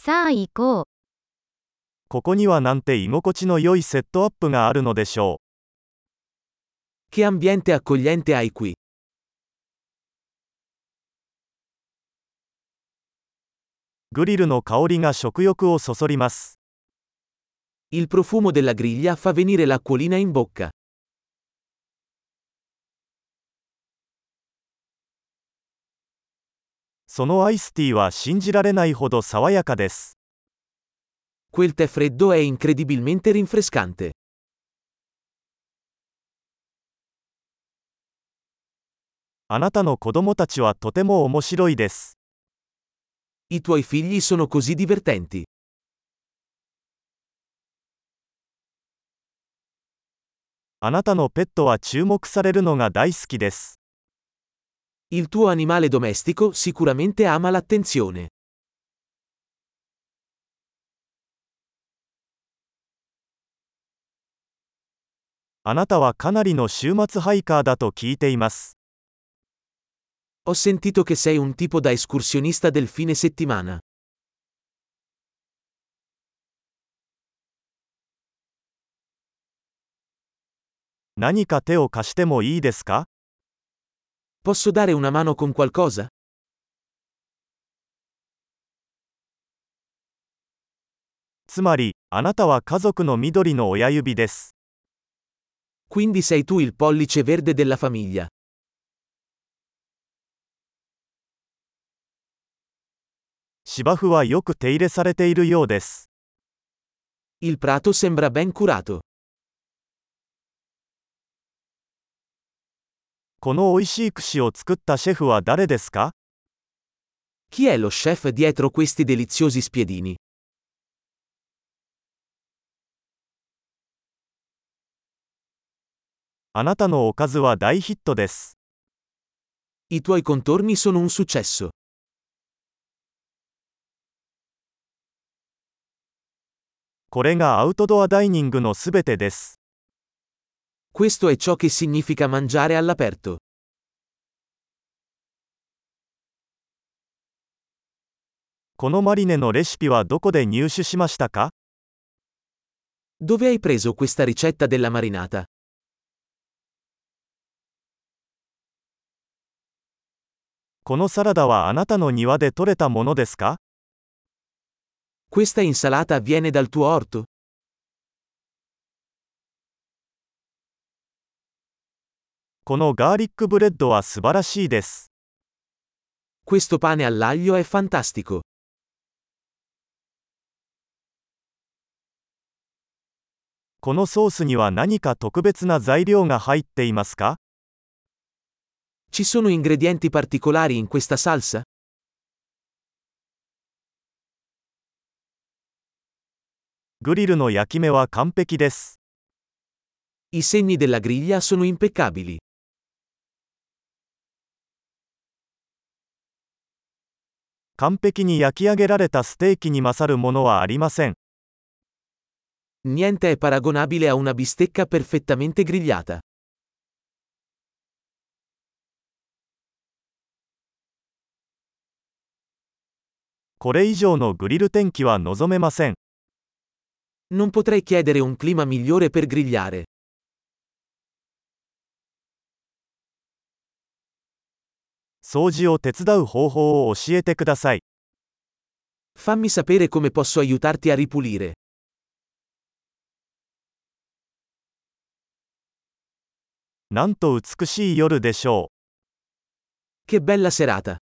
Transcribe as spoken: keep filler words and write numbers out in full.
さあ行こう。 ここにはなんて居心地の良いセットアップがあるのでしょ Che ambiente accogliente hai qui. う。グリルの香りが食欲をそそります。 Il profumo della griglia fa venire l'acquolina in bocca. そのアイスティーは信じられないほど爽やかです。 Quel tè freddo è incredibilmente rinfrescante. あなたの子供たちはとても面白いです。 I tuoi figli sono così divertenti. あなたのペットは注目されるのが大好きです。 Il tuo animale domestico sicuramente ama l'attenzione. あなたはかなりの週末ハイカーだと聞いています。 Ho sentito che sei un tipo da escursionista del fine settimana. 何か手を貸してもいいですか？ Posso dare una mano con qualcosa? つまり、あなたは家族の緑の親指です。 Quindi sei tu il pollice verde della famiglia. 芝生はよく手入れされているようです。 Il prato sembra ben curato. この美味しい串を作ったシェフは誰ですか？ Chi è lo chef dietro questi deliziosi spiedini? あなたのおかずは大ヒットです。 I tuoi contorni sono un successo. これがアウトドアダイニングのすべてです。 Questo è ciò che significa mangiare all'aperto. このマリネのレシピはどこで入手しましたか？ Dove hai preso questa ricetta della marinata? このサラダはあなたの庭で採れたものですか？ Questa insalata viene dal tuo orto? このガーリックブレッドは素晴らしいです。 Questo pane all'aglio è fantastico. このソースには何か特別な材料が入っていますか？ Ci sono ingredienti particolari in questa salsa? グリルの焼き目は完璧です。 I segni della griglia sono impeccabili. 完璧に焼き上げられたステーキに勝るものはありません。 Niente è paragonabile a una bistecca perfettamente grigliata. これ以上のグリル天気は望めません。 Non potrei chiedere un clima migliore per grigliare. 掃除を手伝う方法を教えてください。 Fammi sapere come posso aiutarti a ripulire. なんと美しい夜でしょう。 Che bella serata!